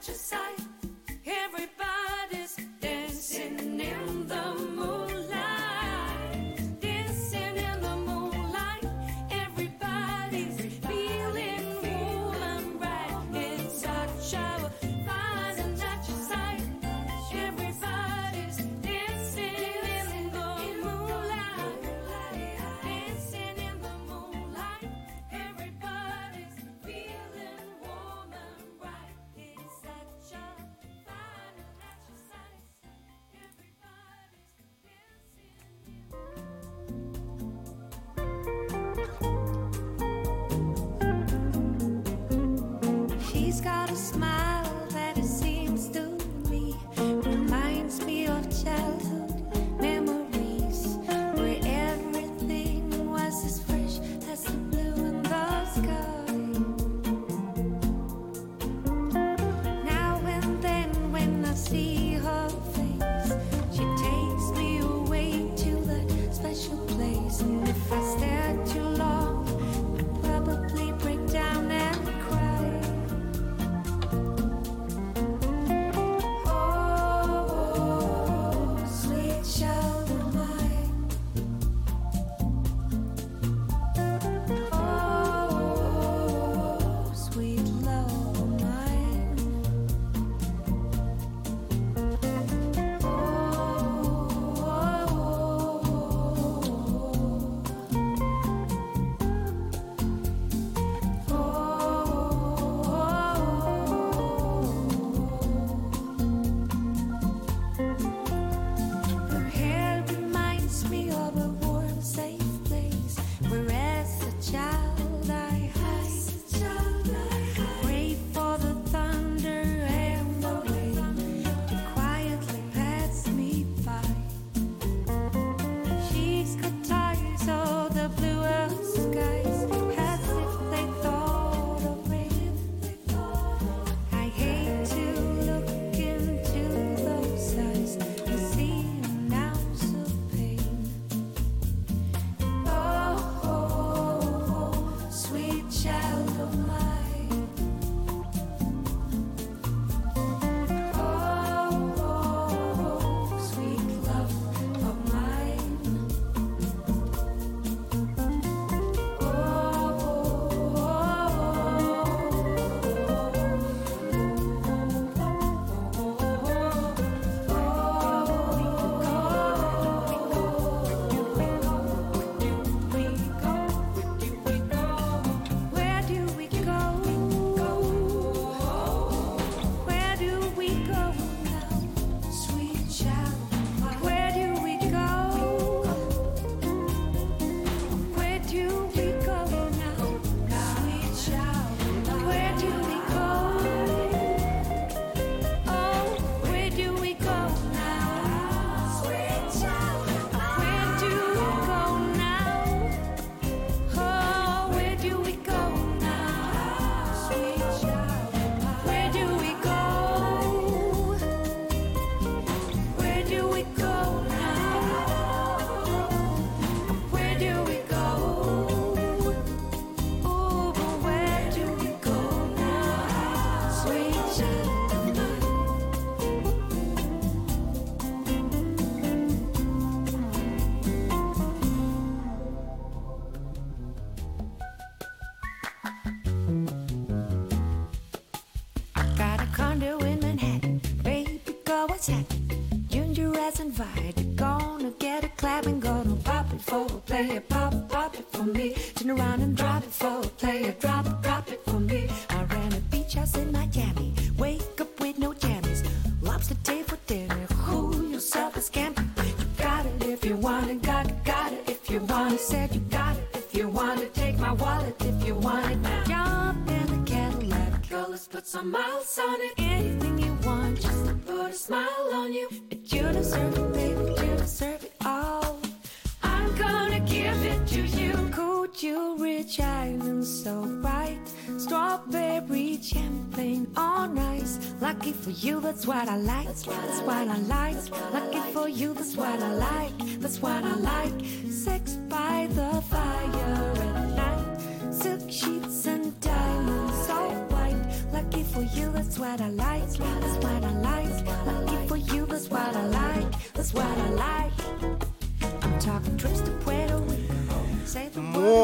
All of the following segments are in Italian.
That's what I like, that's what I like. Lucky for you, that's what I like, that's what I like. Sex by the fire at night, silk sheets and diamonds all white. Lucky for you, that's what I like.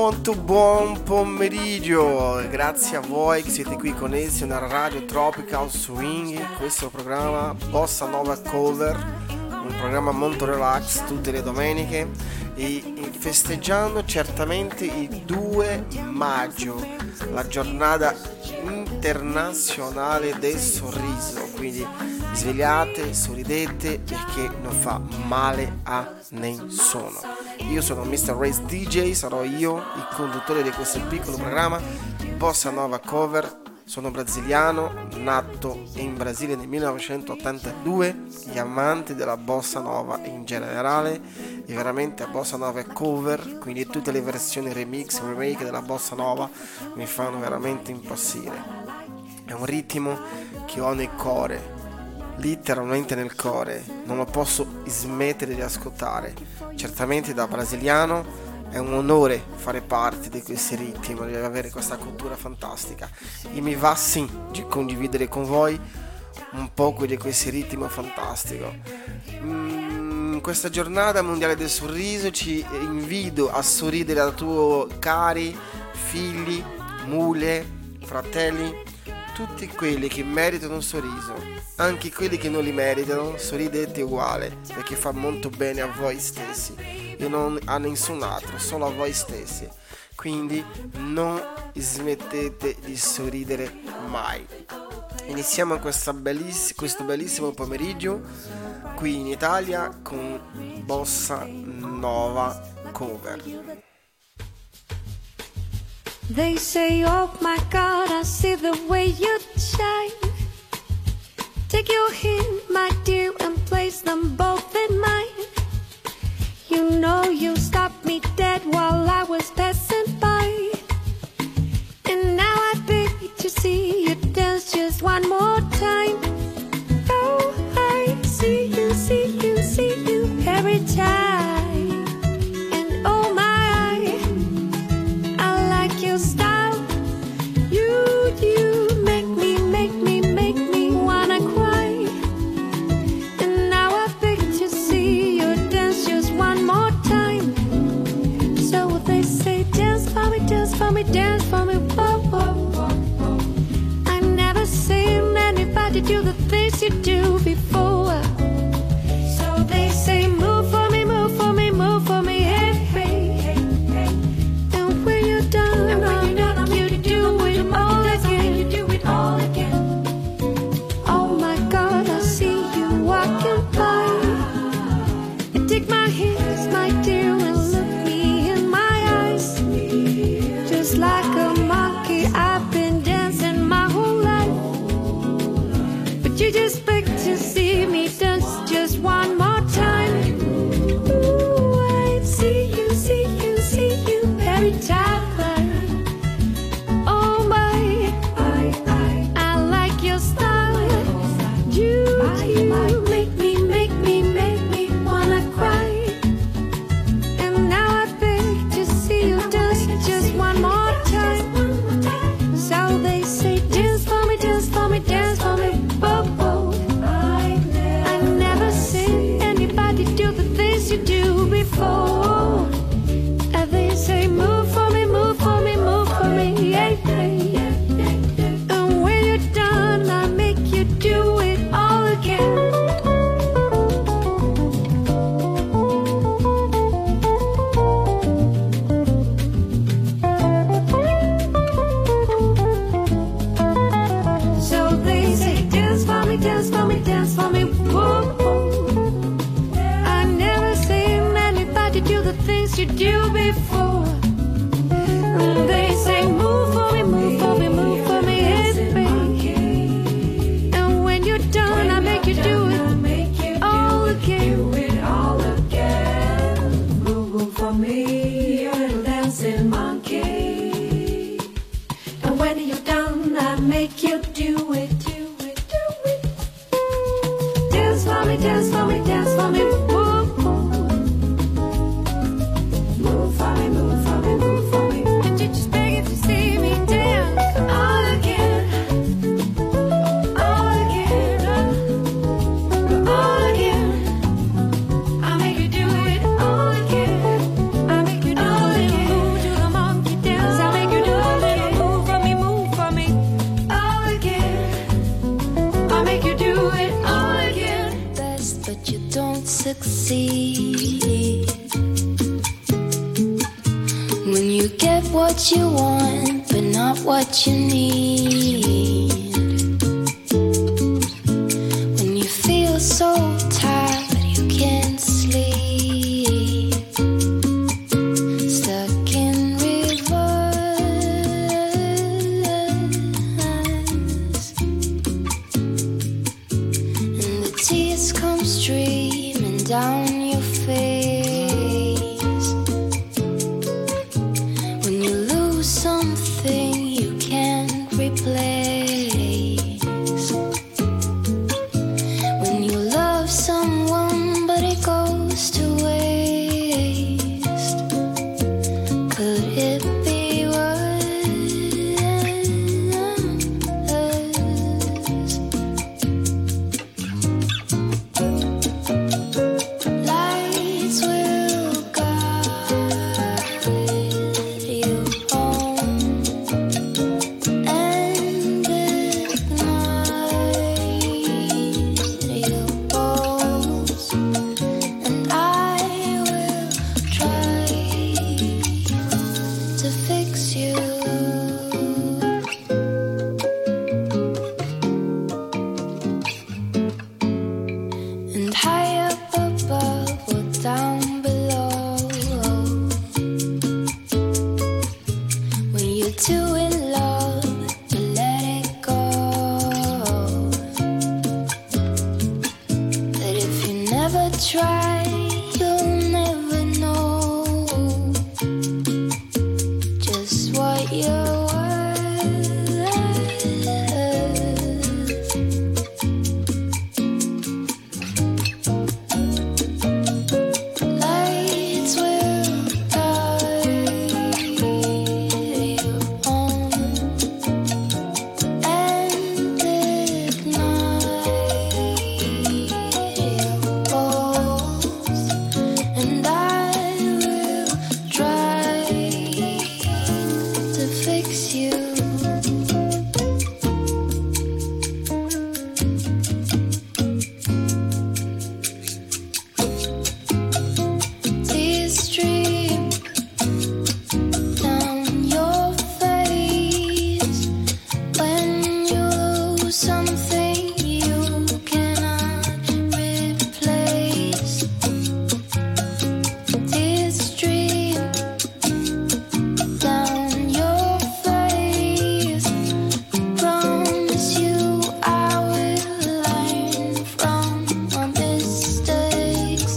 molto buon pomeriggio, grazie a voi che siete qui connessi nella radio Tropical Swing. Questo è il programma Bossa Nova Cover, un programma molto relax tutte le domeniche e festeggiando certamente il 2 maggio, la giornata internazionale del sorriso, quindi svegliate, sorridete perché non fa male a nessuno. Io sono Mr. Race DJ, sarò io il conduttore di questo piccolo programma Bossa Nova Cover. Sono brasiliano, nato in Brasile nel 1982, gli amanti della Bossa Nova in generale e veramente la Bossa Nova è cover, quindi tutte le versioni remix, remake della Bossa Nova mi fanno veramente impazzire. È un ritmo che ho nel cuore, letteralmente nel cuore, non lo posso smettere di ascoltare. Certamente da brasiliano è un onore fare parte di questi ritmi, di avere questa cultura fantastica e mi va sì di condividere con voi un po' di questi ritmi fantastico. Questa giornata mondiale del sorriso ci invito a sorridere a tuoi cari, figli, moglie, fratelli, tutti quelli che meritano un sorriso, anche quelli che non li meritano, sorridete uguale perché fa molto bene a voi stessi e non a nessun altro, solo a voi stessi. Quindi non smettete di sorridere mai. Iniziamo questo bellissimo pomeriggio qui in Italia con Bossa Nova Cover. They say, oh my God, I see the way you shine. Take your hand, my dear, and place them both in mine. You know you stopped me dead while I was passing by. And now I beg to see you dance just one more time. Oh, I see you, see you, see you every time. And oh my, I like your style. You make me wanna cry. And now I beg to see you dance just one more time. So they say dance for me, dance for me, dance for me, whoa, whoa, whoa, whoa. I've never seen anybody do the things you do before. So they say move for me, move for me, move for me, hey, hey, hey, hey. And when you're done, I'll make you do it all again. You do it all again. Oh my God, I see you walking by. You take my hands, my dear, and look me in my eyes. Just like a monkey, I've been dancing my whole life. But you just beg to see me dance just one more time. Ooh, I see you, see you, see you every time. Oh my, I like your style. You make me wanna cry. And now I beg to see you dance just one more time. So they say dance for me, dance for me, dance for me, whoa, whoa. I've never seen anybody do the things you do before. And they say move for me, move for me, move for me, yeah, yeah. And when you're done, I make you do it all again. So they say dance for me, dance for me, dance for me, whoa, whoa. I've never seen anybody do the things you do before. And they say move for me, move for me, move for me, hey, baby. And when you're done, I make you do it all again. Move for me, you're a dancing monkey. And when you're done, I make you do it. Dance for me, dance for me, dance for me, whoa, whoa. Move for me, move for me, move for me. And you just beg to see me dance all again, all again, all again. I make you do it all again. I make you do it all again. Move to the monkey. succeed. When you get what you want, but not what you need. When you feel so tired, you can't sleep. Stuck in reverse. And the tears come streaming down your face. When you lose something you can't replace. When you love someone but it goes to waste. Could it be worse? Lights will guide you home and ignite your bones, and I will try to fix you. And high up above or down below, when you're too in love to let it go. That if you never try, you'll never know just what you're worth. Lights will guide you home and ignite your goals, and I will try to fix you. Tears stream down your face when you lose something you cannot replace. Tears stream down your face. Promise you I will learn from my mistakes.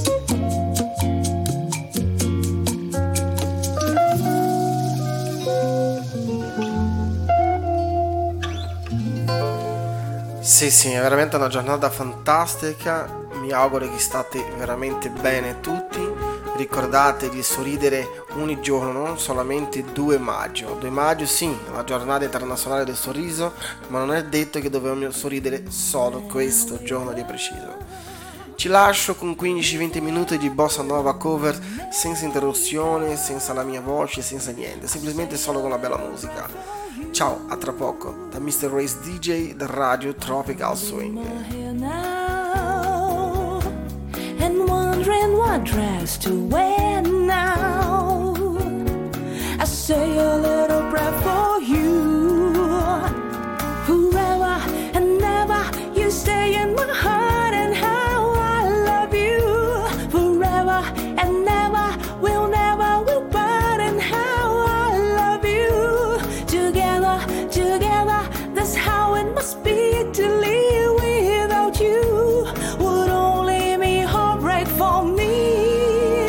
Sì, è veramente una giornata fantastica. Mi auguro che state veramente bene tutti. Ricordate di sorridere ogni giorno, non solamente 2 maggio. 2 maggio sì, è la giornata internazionale del sorriso, ma non è detto che dobbiamo sorridere solo questo giorno di preciso. Ci lascio con 15-20 minuti di bossa nova cover, senza interruzione, senza la mia voce, senza niente, semplicemente solo con la bella musica. Ciao, a tra poco, da Mr. Race DJ da Radio Tropical Swing. Here now, and wondering what dress to wear now. I say a little prayer for you. Forever and ever, you stay in my heart, and how I love you. Forever and ever, we'll never will part, and how I love you. Together, together, that's how it must be to live without you. Would only be heartbreak for me.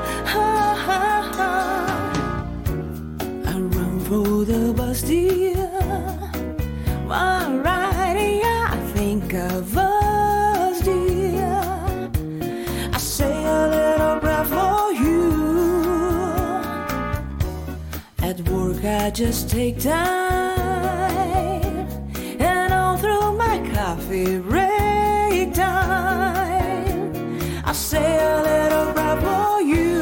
I run for the bus, dear. While riding, I think of us, dear. I say a little prayer for you. At work, I just take time, and all through my coffee break time, I say a little prayer for you.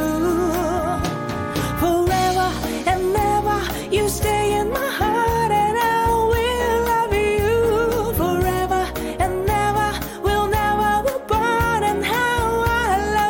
Forever and ever, you stay in my heart, and I will love you. Forever and ever, we'll never be apart, and how I love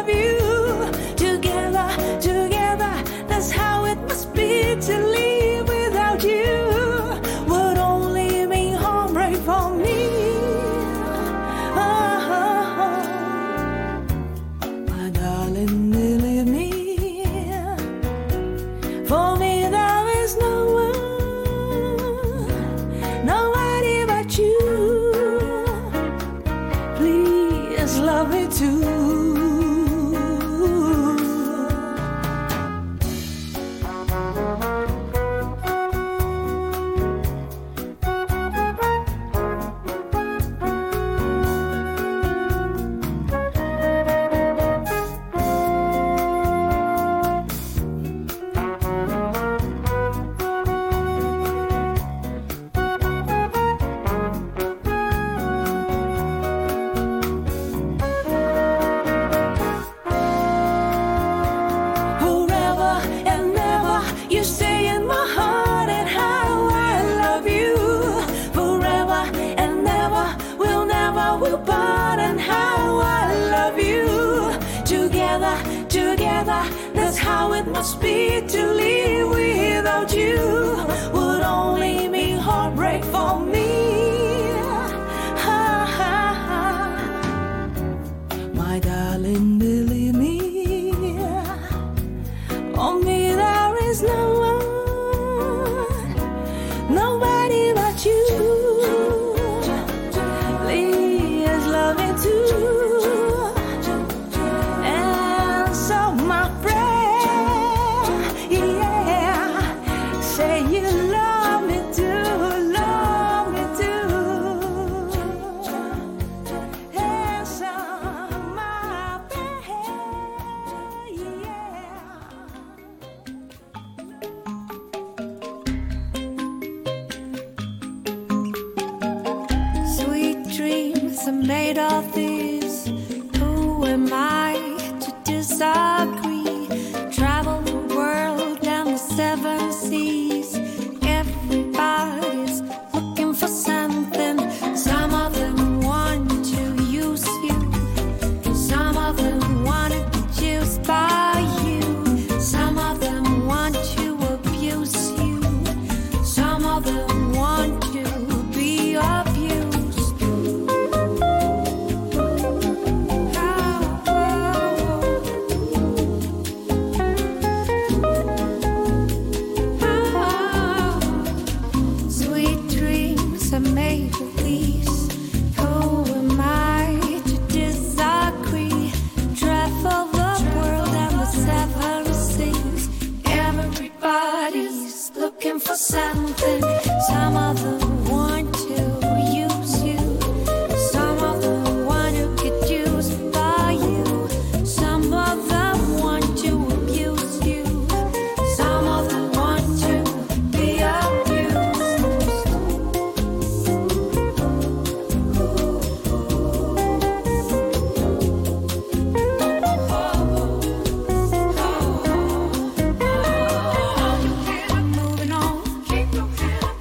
apart and how I love you. Together, together, that's how it must be to live without you. Would only mean heartbreak for me. Ha, ha, ha. My darling, believe me, on me there is no one, nobody but you. Please love me too. And so my friend, yeah, say you love me too, love me too. And so my friend, yeah. Sweet dreams are made of these. Who am I to disagree? Travel the world down the 7 seas. Everybody's looking for something. Some of them want to use you. Some of them want to get used by you. Some of them want to abuse you. Some of them want to be abused. Sweet dreams are made of these. Who am I to disagree? Travel the world and the 7 seas. Everybody's looking for something. Some of them want to use you. Some of them want to get used by you. Some of them want to abuse you. Some of them want to be abused. Moving on. Keep your hand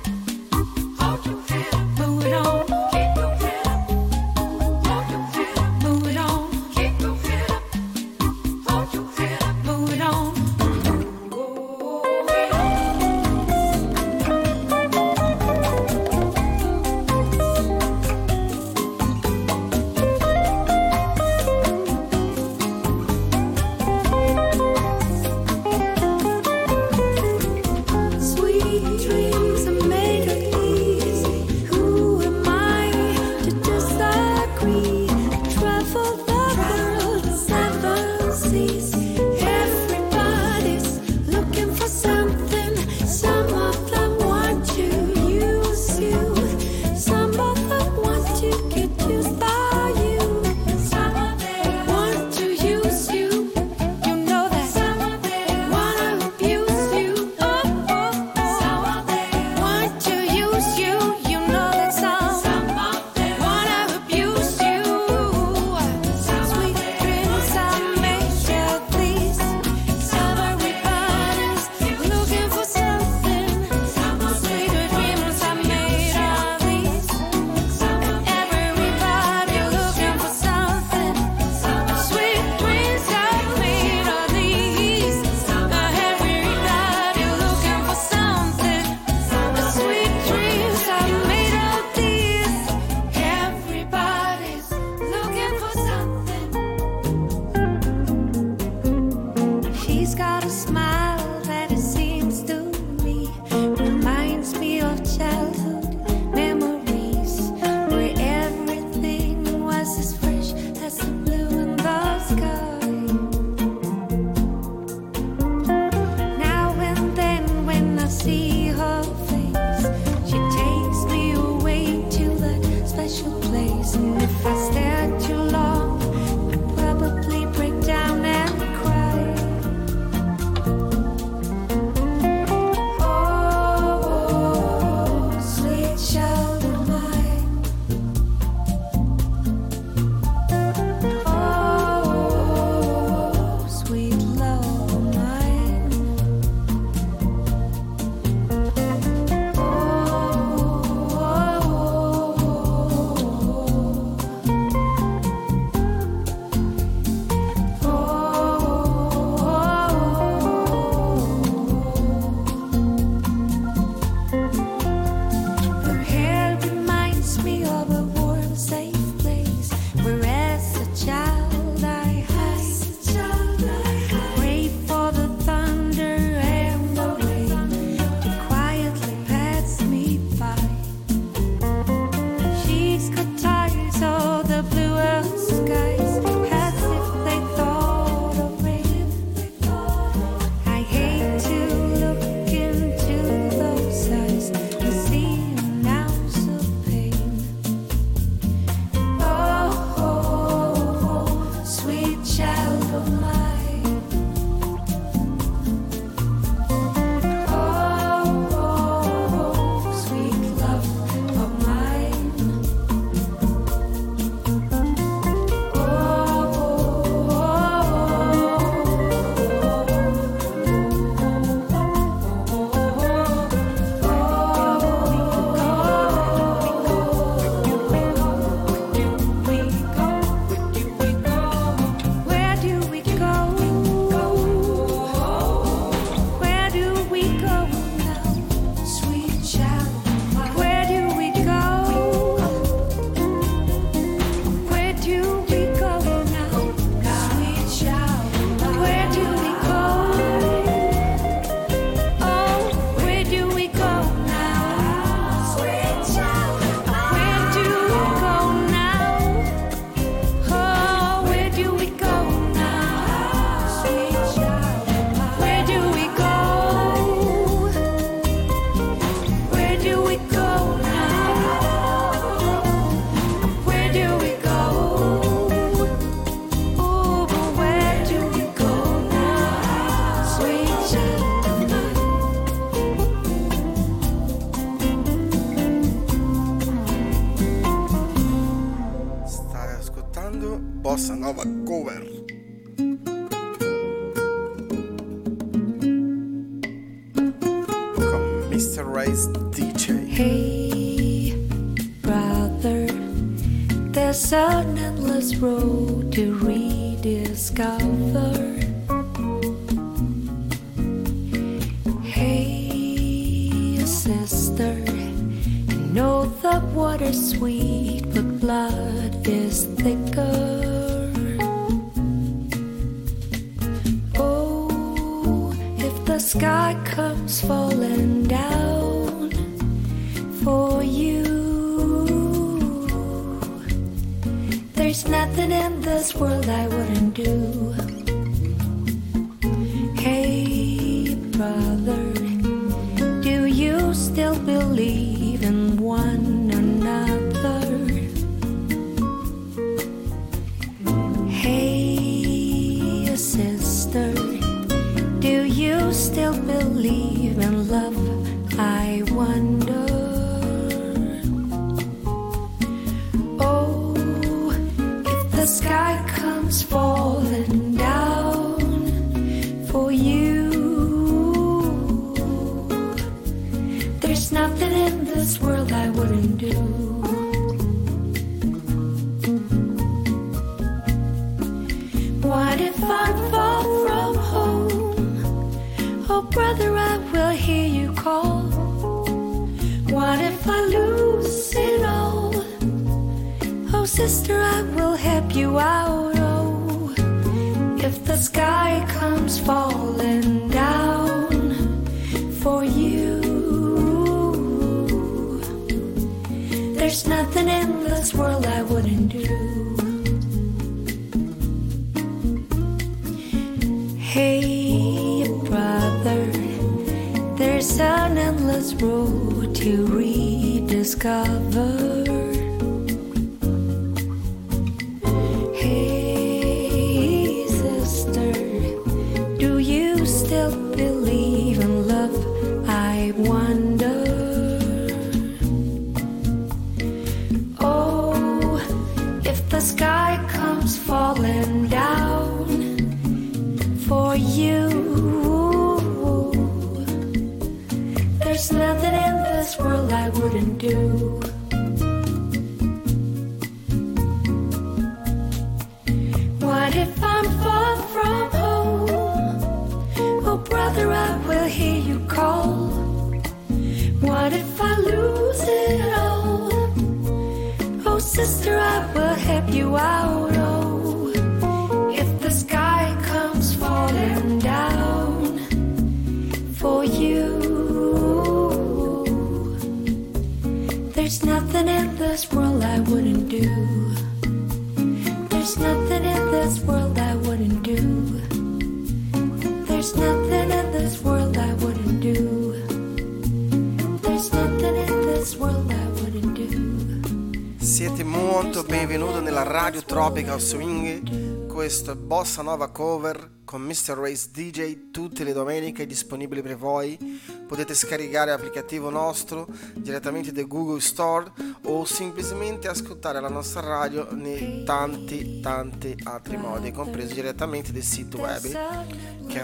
bossa nova cover. Con Mr. Race DJ. Hey, brother, there's an endless road to rediscover. Hey, sister, I know the water's sweet, but blood is thicker. Oh, if the sky comes falling down for you, there's nothing in this world I wouldn't do. Hey, brother, do you still believe in one another? Hey, sister, do you still believe in love? I wonder. Oh, if the sky comes falling down for you, there's nothing in this world I wouldn't do. What if I'm far from home? Oh, brother, I will hear you call. What if I lose it all? Oh, sister, I will help you out. Oh, if the sky comes falling down for you, there's nothing in this world I wouldn't do. Hey, brother, there's an endless road to rediscover. Hey, sister, do you still believe in love? I wonder. Oh, if the sky comes falling down for you, there's nothing in this world I wouldn't do. What if I'm far from home? Oh, brother, I will hear you call. What if I lose it all? Oh, sister, I will help you out. Oh, if the sky comes falling down for you, there's nothing in this world I wouldn't do. There's nothing in this world I wouldn't do. There's nothing in this world I wouldn't do. There's nothing in this world I wouldn't do. Siete molto benvenuti nella Radio Tropical Swing. Questo è Bossa Nova Cover con Mr. Race DJ, tutte le domeniche disponibili per voi. Potete scaricare l'applicativo nostro direttamente da Google Store o semplicemente ascoltare la nostra radio nei tanti altri modi, compreso direttamente del sito web che è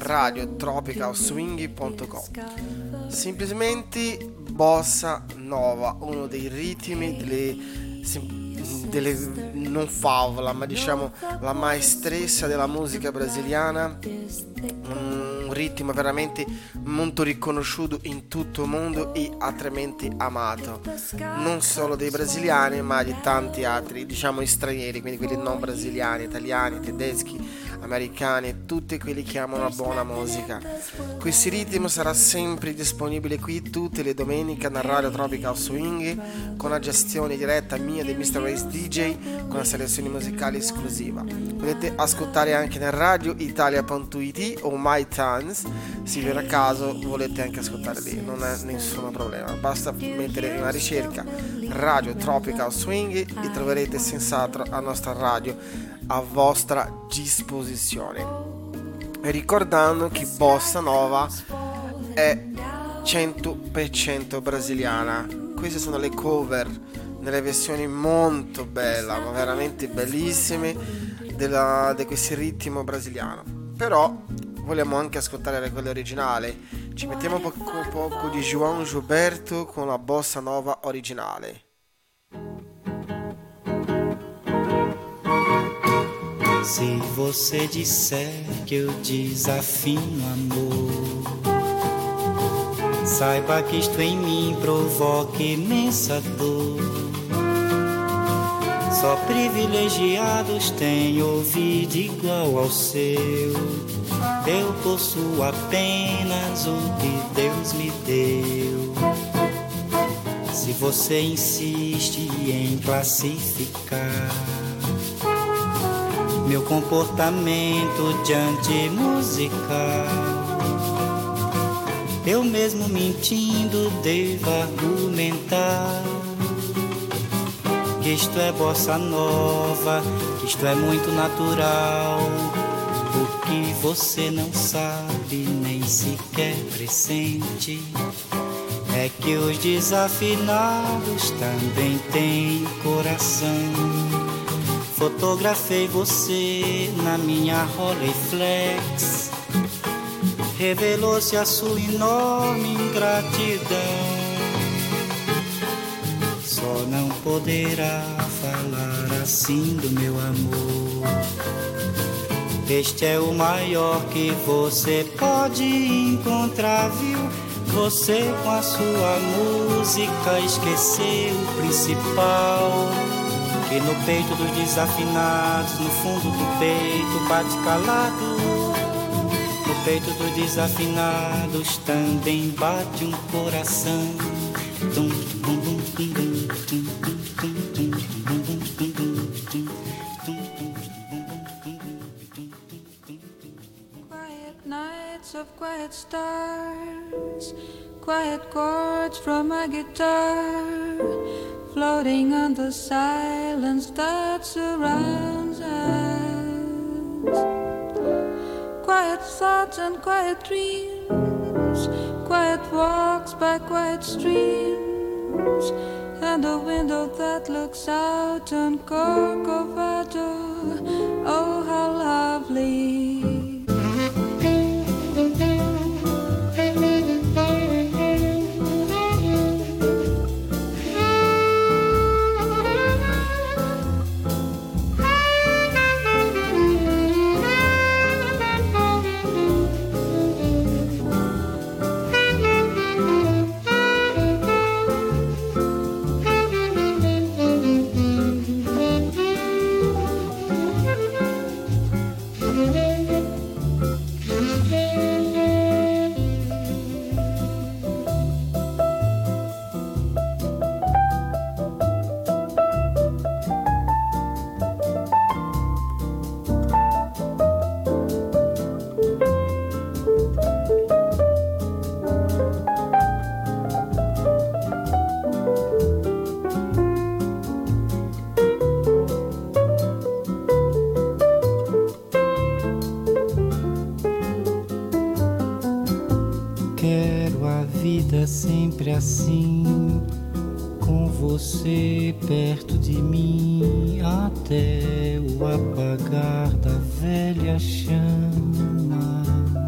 radiotropicalswing.com. Semplicemente Bossa Nova, uno dei ritmi delle non favola, ma diciamo la maestressa della musica brasiliana, un ritmo veramente molto riconosciuto in tutto il mondo e altamente amato, non solo dei brasiliani ma di tanti altri, diciamo, stranieri, quindi quelli non brasiliani, italiani, tedeschi, americani, tutti quelli che amano la buona musica. Questo ritmo sarà sempre disponibile qui tutte le domeniche nella Radio Tropical Swing, con la gestione diretta mia di Mr. Race DJ, con la selezione musicale esclusiva. Potete ascoltare anche nel radioitalia.it o MyTunes, se per caso volete anche ascoltare lì, non è nessun problema, basta mettere una ricerca Radio Tropical Swing e troverete senz'altro la nostra radio a vostra disposizione. E ricordando che Bossa Nova è 100% brasiliana. Queste sono le cover nelle versioni molto belle, ma veramente bellissime, di questo ritmo brasiliano, però vogliamo anche ascoltare quella originale. Ci mettiamo poco di João Gilberto con la bossa nova originale. Se você disser que eu desafino amor, saiba que isto em mim provoca imensa dor. Só privilegiados têm ouvido igual ao seu. Eu possuo apenas o que Deus me deu. Se você insiste em classificar meu comportamento diante musical, eu mesmo mentindo devo argumentar que isto é bossa nova, que isto é muito natural. O que você não sabe nem sequer pressente é que os desafinados também têm coração. Fotografei você na minha Rolleiflex, revelou-se a sua enorme ingratidão. Só não poderá falar assim do meu amor. Este é o maior que você pode encontrar, viu? Você com a sua música esqueceu o principal, que no peito dos desafinados, no fundo do peito bate calado. No peito dos desafinados também bate um coração. Quiet nights of quiet stars, quiet chords from a guitar, floating on the silence that surrounds us. Quiet thoughts and quiet dreams, quiet walks by quiet streams, and a window that looks out on Corcovado. Oh, how lovely. Sempre assim, com você perto de mim, até o apagar da velha chama.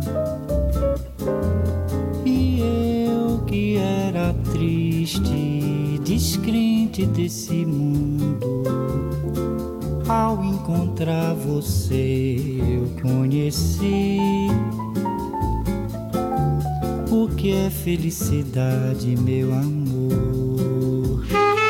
E eu que era triste, descrente desse mundo, ao encontrar você eu conheci o que é felicidade, meu amor.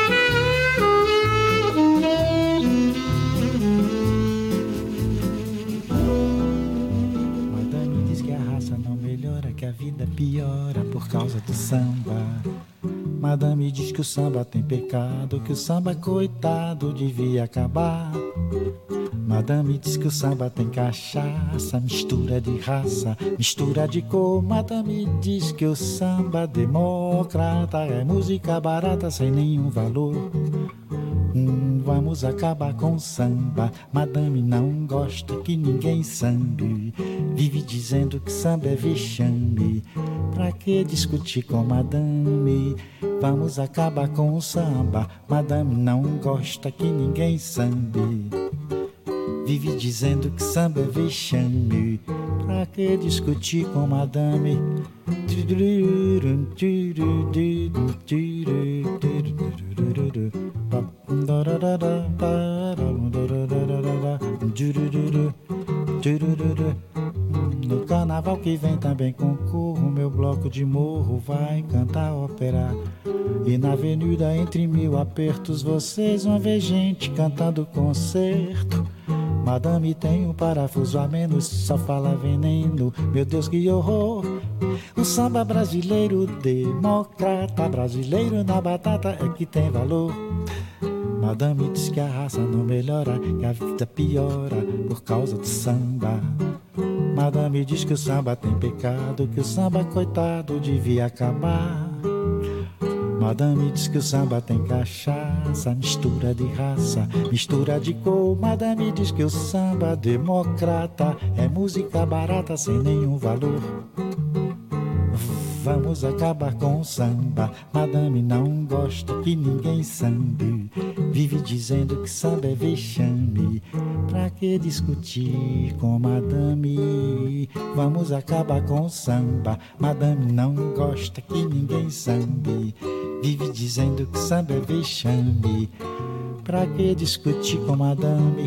Madame diz que a raça não melhora, que a vida piora por causa do samba. Madame diz que o samba tem pecado, que o samba coitado devia acabar. Madame diz que o samba tem cachaça, mistura de raça, mistura de cor. Madame diz que o samba democrata é música barata sem nenhum valor. Vamos acabar com o samba. Madame não gosta que ninguém sambe, vive dizendo que samba é vexame. Pra que discutir com madame? Vamos acabar com o samba. Madame não gosta que ninguém sambe, Vive dizendo que samba é vexame. Pra que discutir com madame? No carnaval que vem também concorro, meu bloco de morro vai cantar ópera. E na avenida entre mil apertos vocês vão ver gente cantando concerto. Madame tem um parafuso a menos, só fala veneno, meu Deus que horror. O samba brasileiro democrata, brasileiro na batata é que tem valor. Madame diz que a raça não melhora, que a vida piora por causa do samba. Madame diz que o samba tem pecado, que o samba coitado devia acabar. Madame diz que o samba tem cachaça, mistura de raça, mistura de cor. Madame diz que o samba democrata é música barata sem nenhum valor. Vamos acabar com o samba. Madame não gosta que ninguém sambe. Vive dizendo que samba é vexame. Pra que discutir com madame? Vamos acabar com o samba. Madame não gosta que ninguém sambe. Vive dizendo que samba é vexame. Pra que discutir com madame?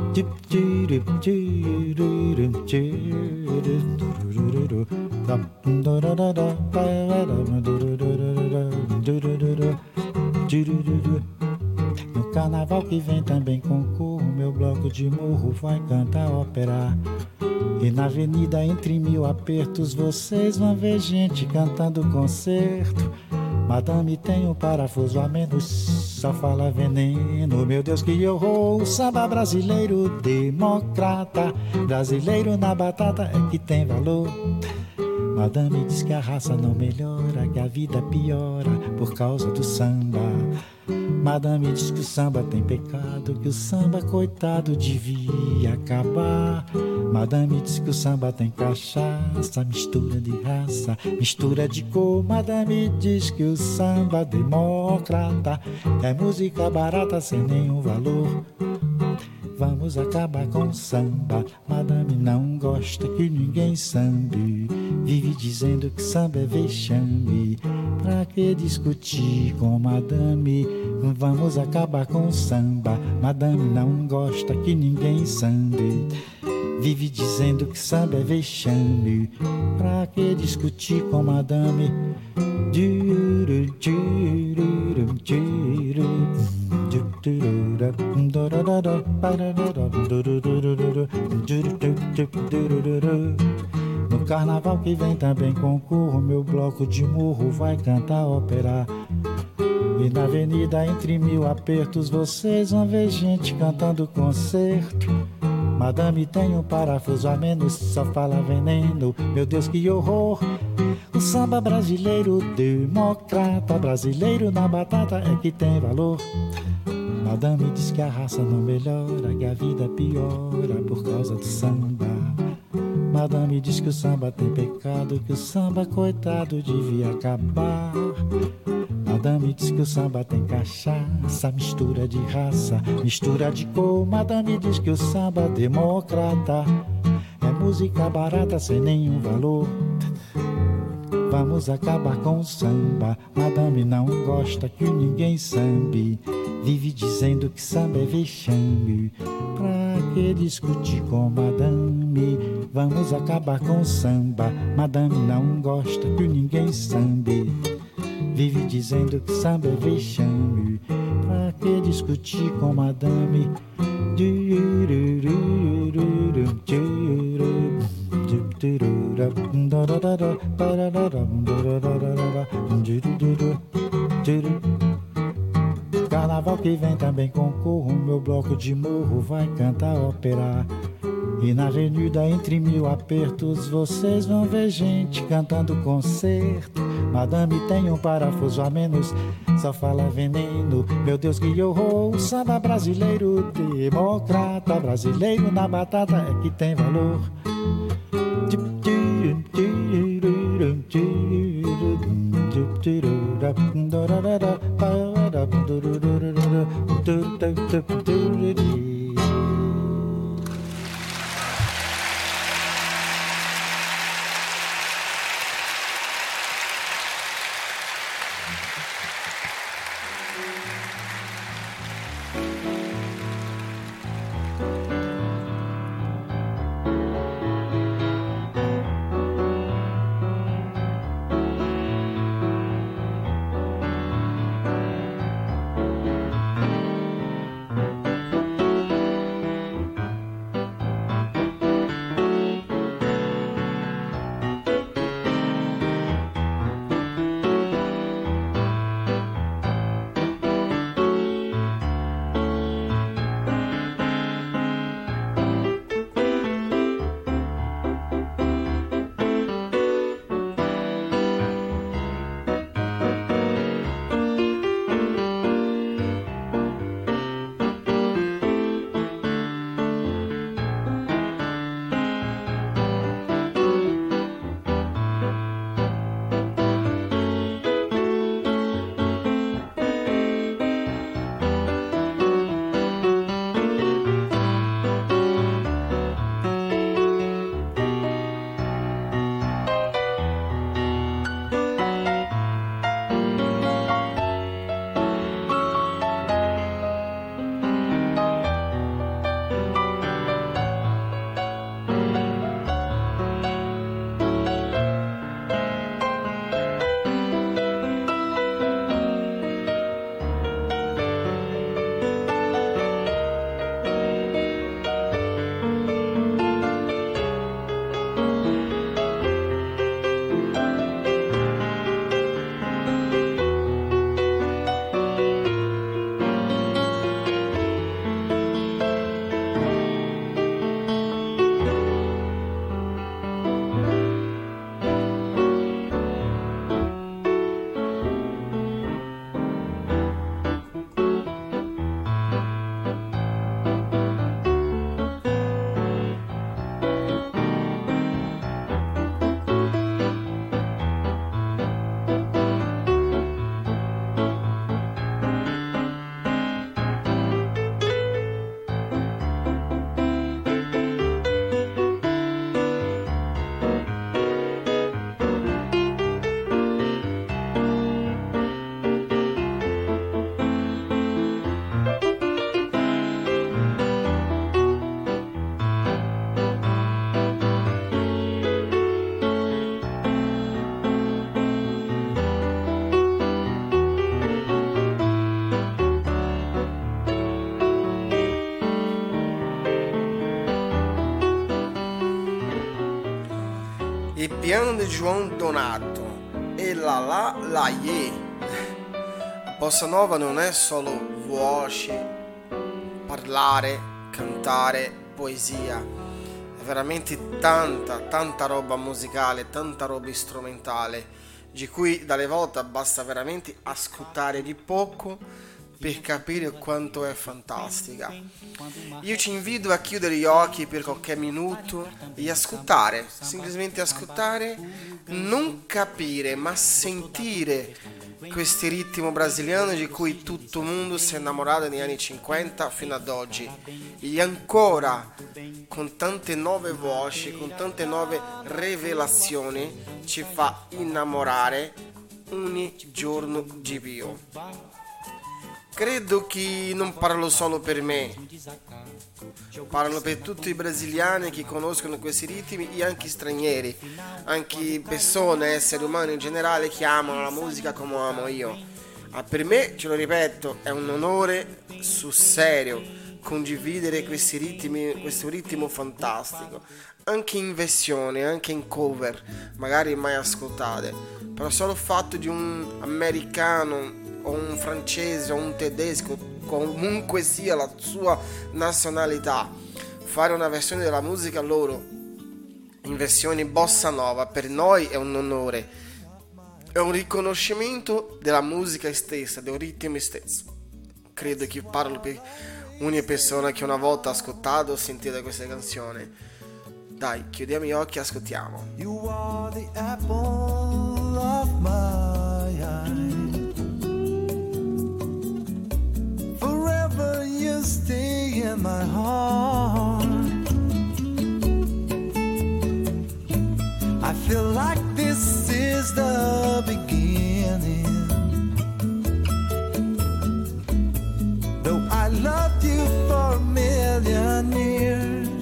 No carnaval que vem também concorro, meu bloco de morro vai cantar ópera. E na avenida entre mil apertos vocês vão ver gente cantando concerto. Madame tem um parafuso a menos, só fala veneno, meu Deus que horror. O samba brasileiro democrata, brasileiro na batata é que tem valor. Madame diz que a raça não melhora, que a vida piora por causa do samba. Madame diz que o samba tem pecado, que o samba coitado devia acabar. Madame diz que o samba tem cachaça, mistura de raça, mistura de cor. Madame diz que o samba democrata é música barata sem nenhum valor. Vamos acabar com o samba. Madame não gosta que ninguém sambe. Vive dizendo que samba é vexame. Pra que discutir com madame? Vamos acabar com o samba. Madame não gosta que ninguém sambe. Vive dizendo que samba é vexame. Pra que discutir com madame? No carnaval que vem também concorro, meu bloco de morro vai cantar ópera. E na avenida entre mil apertos vocês vão ver gente cantando concerto. Madame tem um parafuso a menos, só fala veneno, meu Deus que horror. O samba brasileiro democrata, brasileiro na batata é que tem valor. Madame diz que a raça não melhora, que a vida piora por causa do samba. Madame diz que o samba tem pecado, que o samba coitado devia acabar. Madame diz que o samba tem cachaça, mistura de raça, mistura de cor. Madame diz que o samba democrata é música barata sem nenhum valor. Vamos acabar com o samba. Madame não gosta que ninguém sambe. Vive dizendo que samba é vexame. Pra que discutir com madame? Vamos acabar com o samba. Madame não gosta que ninguém sambe. Vive dizendo que samba é vexame. Pra que discutir com madame? Carnaval que vem também concorro, meu bloco de morro vai cantar ópera. E na avenida entre mil apertos vocês vão ver gente cantando concerto. Madame tem um parafuso a menos, só fala veneno, meu Deus que horror. O samba brasileiro democrata, brasileiro na batata é que tem valor. piano di João Donato e la ye. Bossa nova non è solo voce, parlare, cantare, poesia, è veramente tanta roba musicale, tanta roba strumentale, di cui dalle volte basta veramente ascoltare di poco per capire quanto è fantastica. Io ci invito a chiudere gli occhi per qualche minuto e ascoltare, semplicemente ascoltare, non capire ma sentire questi ritmi brasiliani di cui tutto il mondo si è innamorato negli anni 50 fino ad oggi, e ancora con tante nuove voci, con tante nuove rivelazioni ci fa innamorare ogni giorno di più. Credo che non parlo solo per me, parlo per tutti i brasiliani che conoscono questi ritmi e anche stranieri, anche persone, esseri umani in generale che amano la musica come amo io. Per me, ce lo ripeto, è un onore sul serio condividere questi ritmi, questo ritmo fantastico, anche in versione, anche in cover, magari mai ascoltate, però solo il fatto di un americano o un francese o un tedesco, comunque sia la sua nazionalità, fare una versione della musica loro in versione bossa nova, per noi è un onore, è un riconoscimento della musica stessa, del ritmo stesso. Credo che parlo per ogni persona che una volta ha ascoltato o sentito questa canzone. Dai, chiudiamo gli occhi e ascoltiamo. You are the apple of my eye. Forever you stay in my heart. I feel like this is the beginning. Though I loved you for a million years,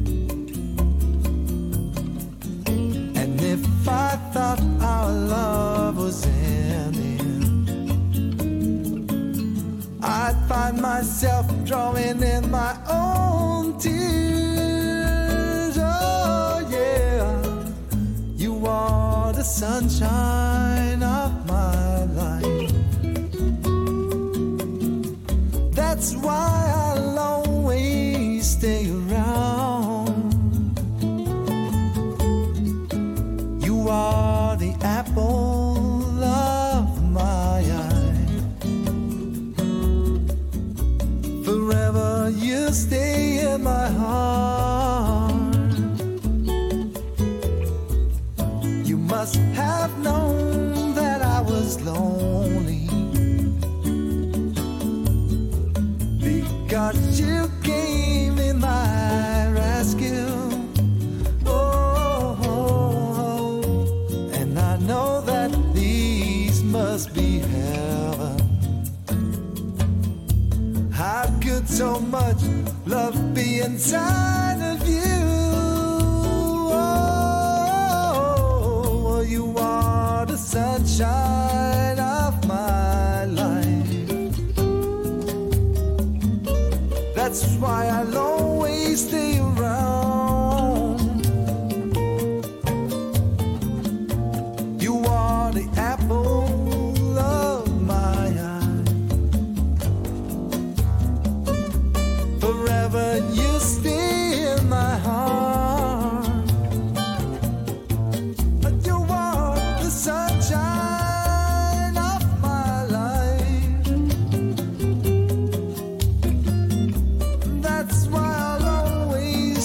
and if I thought our love was ending, I'd find myself drawing in my own tears. Oh yeah, you are the sunshine of my life. That's why I'll always stay around. You are the apple of my eye. Forever you stay in my heart. You must have known that I was lonely, because you came in my rescue. Oh, and I know that these must be heaven. How could so much love be inside of you? Oh, you are the sunshine of my life. That's why I'll always stay around. You are the apple of my eye. Forever you stay in my heart. You are the sunshine of my life. That's why I'll always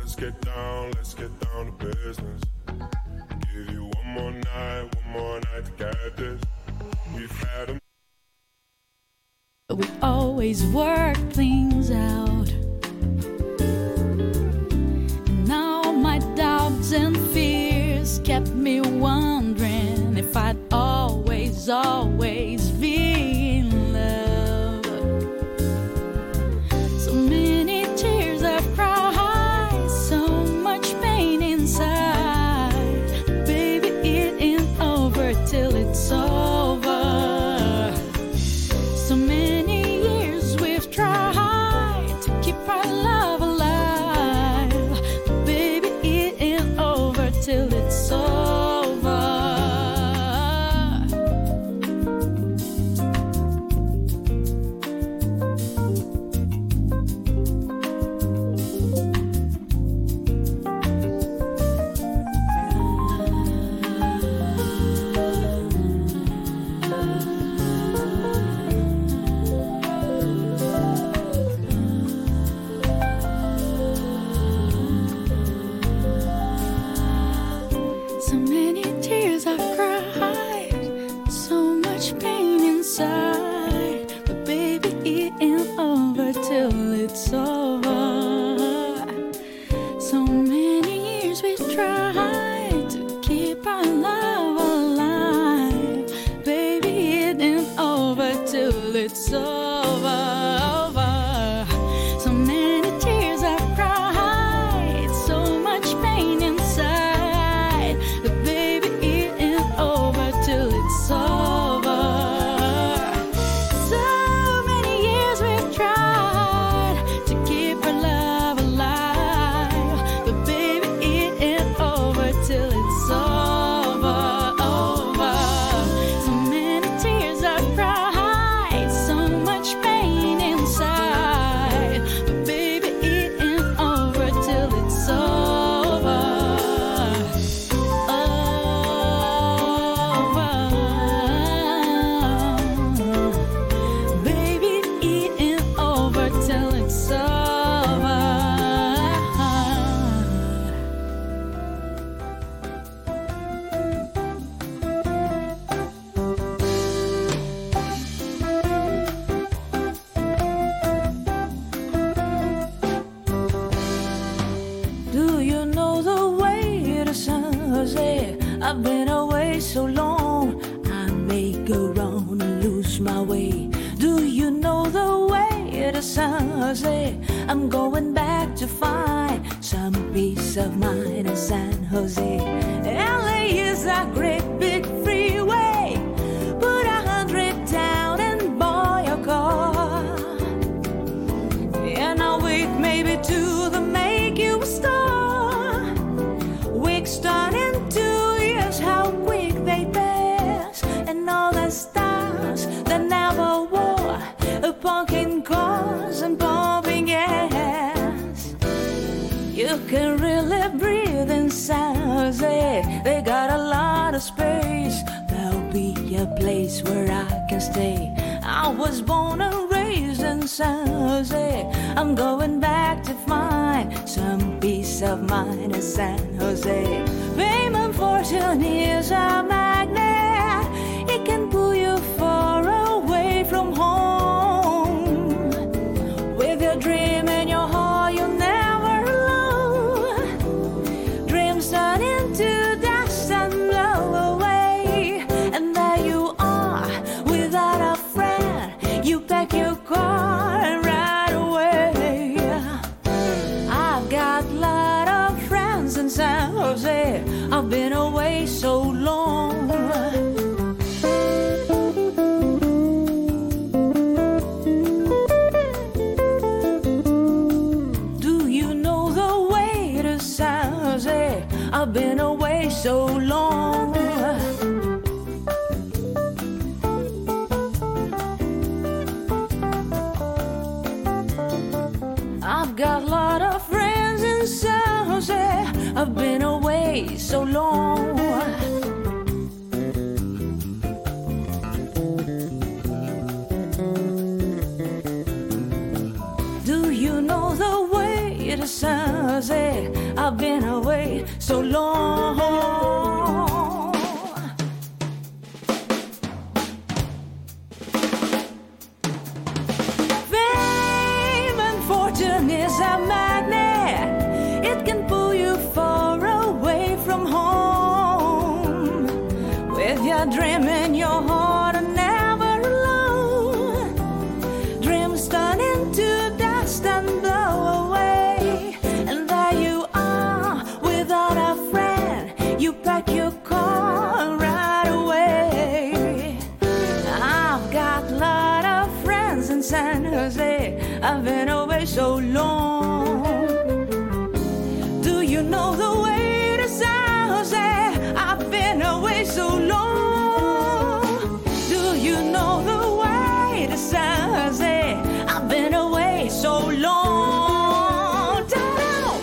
let's get down to business. Give you one more night to get this. We've had a We always work things out. Now my doubts and fears kept me wondering if I'd always be in love. So many tears I've cried, so much pain inside. Baby, it ain't over till it's over. So many years we've tried to keep our love alive. But baby, it ain't over till it's over. So many tears I've cried, so much pain inside. But baby, it ain't over till it's over. So many years we've tried to keep our love alive. Baby, it ain't over till it's over. So many tears I've cried, so much pain inside. But baby, it ain't over till it's over. So many years we've tried to keep our love alive. But baby, it ain't over till it's over, over. So many tears I've cried, so much pain inside. But baby, it ain't over till it's over. Baby, it ain't over till it's over. Do you know the way to San Jose? I've been away so long, I may go wrong and lose my way. Do you know the way to San Jose? I'm going back to find some peace of mind in San Jose. LA is a great big freeway. Put 100 down and buy a car. And I'll wait maybe to the make you a star. Weeks turning 2 years, how quick they pass. And all the stars that never wore a pumpkin cars and pumping gas. You can really breathe in San Jose. They got a lot of space. There'll be a place where I can stay. I was born and raised in San Jose. I'm going back to find some peace of mind in San Jose. Fame and fortune is a magnet. It can pull you far away from home. With your dream in your heart, you're never alone. Dreams turn into dust and blow away. And there you are, without a friend. You pack your car and ride away. I've got a lot of friends in San Jose. I've been away so long. Do you know the way to San Jose? I've been away so long. I've got a lot of friends in San Jose. I've been away so long. Do you know the way to San Jose? I've been away so long. Fame and fortune is a magnet. It can pull you far away from home. With your dream in your heart and never alone. Dreams turn into dust and blow away. And there you are without a friend. You pack your car right away. I've got a lot of friends in San Jose. I've been away so long. Do you know the way to San Jose? I've been away so long. Do you know the way to San Jose? I've been away so long. Down.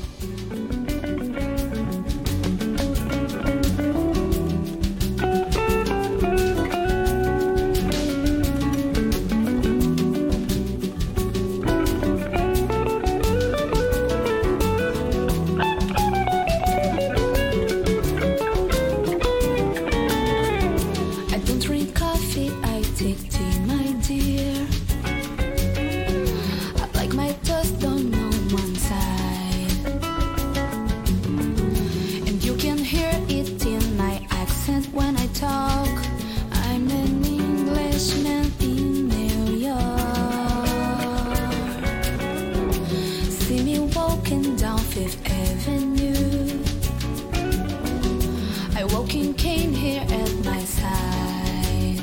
I don't drink coffee, I take tea, my dear. I like my toast on one side. And you can hear it in my accent when I talk. I'm an Englishman in New York. See me walking down Fifth Avenue. I walking cane here at my side.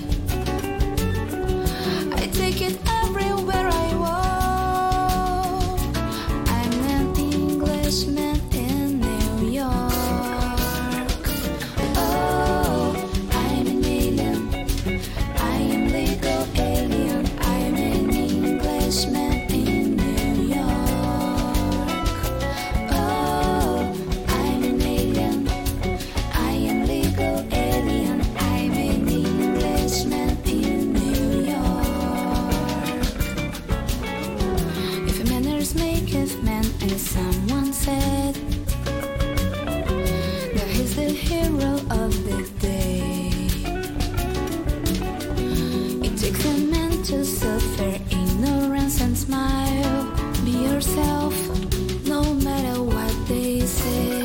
I take it everywhere I walk. I'm an Englishman in New York. Oh, I'm an alien. I am legal alien. I'm an Englishman in New York. Oh, I'm an alien. I am legal alien. I'm an Englishman in New York. If manners maketh man, as someone said, that he's the hero of the day. It takes a man to suffer ignorance and smile. Be yourself, no matter what they say.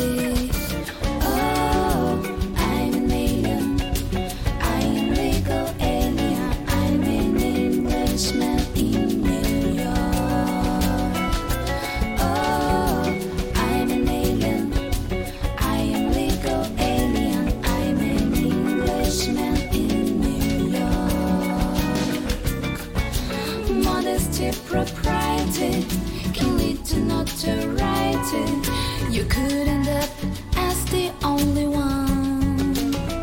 Oh, I'm an alien. I am legal alien. I'm an Englishman in New York. Oh, I'm an alien. I am legal alien. I'm an Englishman in New York. Modesty, propriety can lead to notoriety. You could end up as the only one.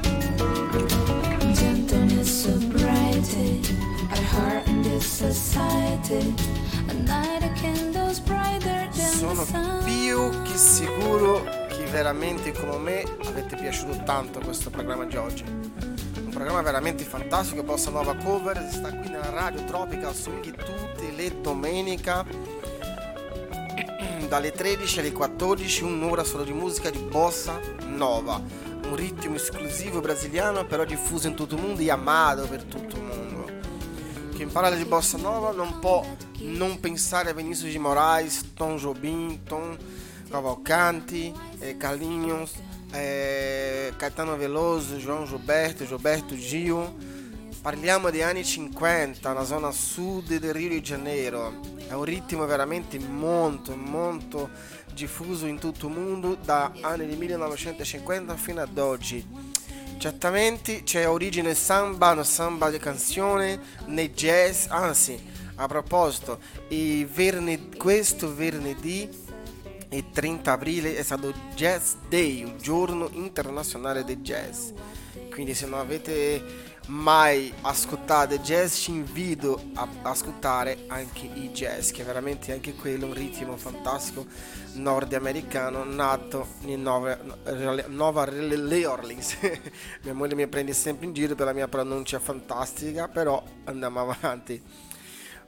Gentleness, sobriety are hard in this society. A night of candles brighter than the Sono sun. più che sicuro che veramente come me avete piaciuto tanto questo programma di oggi. Un programma veramente fantastico, bossa nova cover, si sta qui nella radio Tropical Swing tutte le domeniche dalle 13 alle 14, un'ora solo di musica di bossa nova, un ritmo esclusivo brasiliano però diffuso in tutto il mondo e amato per tutto il mondo. Chi parla di bossa nova non può non pensare a Vinícius de Moraes, Tom Jobim, Tom Cavalcanti, Carlinhos, Caetano Veloso, João Gilberto, Gilberto Gil. Parliamo di anni 50, la zona sud del Rio de Janeiro. È un ritmo veramente molto diffuso in tutto il mondo da anni di 1950 fino ad oggi. Certamente c'è origine samba, no samba di canzone, nei jazz, anzi, a proposito, questo venerdì e 30 aprile è stato Jazz Day, il giorno internazionale del jazz. Quindi se non avete mai ascoltato jazz ci invito a ascoltare anche i jazz, che è veramente anche quello un ritmo fantastico nordamericano nato in Nova Orleans. Mia moglie mi prende sempre in giro per la mia pronuncia fantastica, però andiamo avanti.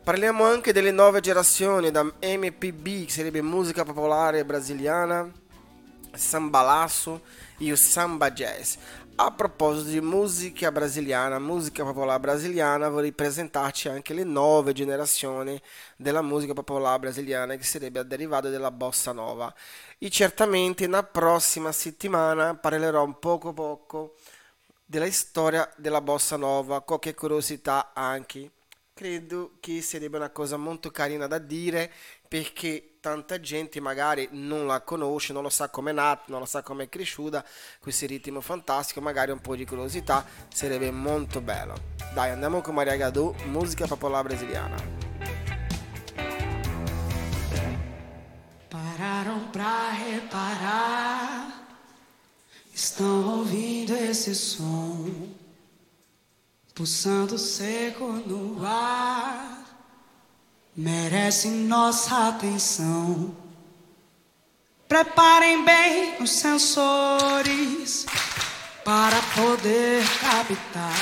Parliamo anche delle nuove generazioni da MPB, che sarebbe musica popolare brasiliana, sambalasso e o samba jazz. A proposito di musica brasiliana, musica popolare brasiliana, vorrei presentarci anche le nuove generazioni della musica popolare brasiliana, che sarebbe derivata della bossa nova. E certamente na prossima settimana parlerò un poco della storia della bossa nova, qualche curiosità anche. Credo che sarebbe una cosa molto carina da dire, perché tanta gente magari non la conosce, non lo sa come è nata, non lo sa come è cresciuta, questo ritmo fantastico, magari un po' di curiosità sarebbe molto bello. Dai, andiamo con Maria Gadu, musica popolare brasiliana. Pararam pra reparar, estão ouvindo esse som, pulsando seco no ar, merece nossa atenção. Preparem bem os sensores para poder captar.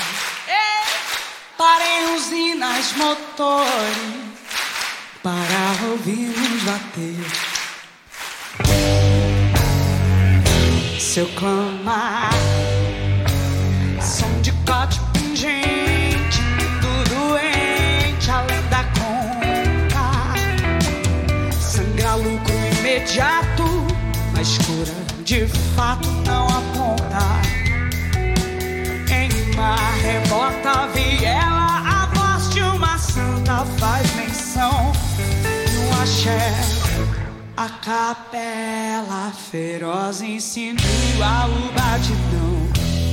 Parem usinas, motores para ouvir-nos bater. Seu clamar, som de corte pungente, tudo doente além da conta. Sangra lucro imediato, mas cura de fato não aponta. Em mar rebota a viela, a voz de uma santa faz menção. No axé, a capela feroz insinua o batidão.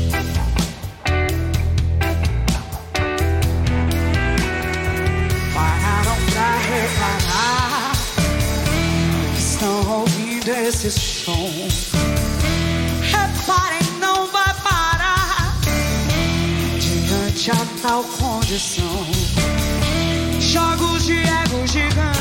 Pararam pra reparar, estão ouvindo esse som. Reparem, não vai parar diante a tal condição. Jogos de ego gigante,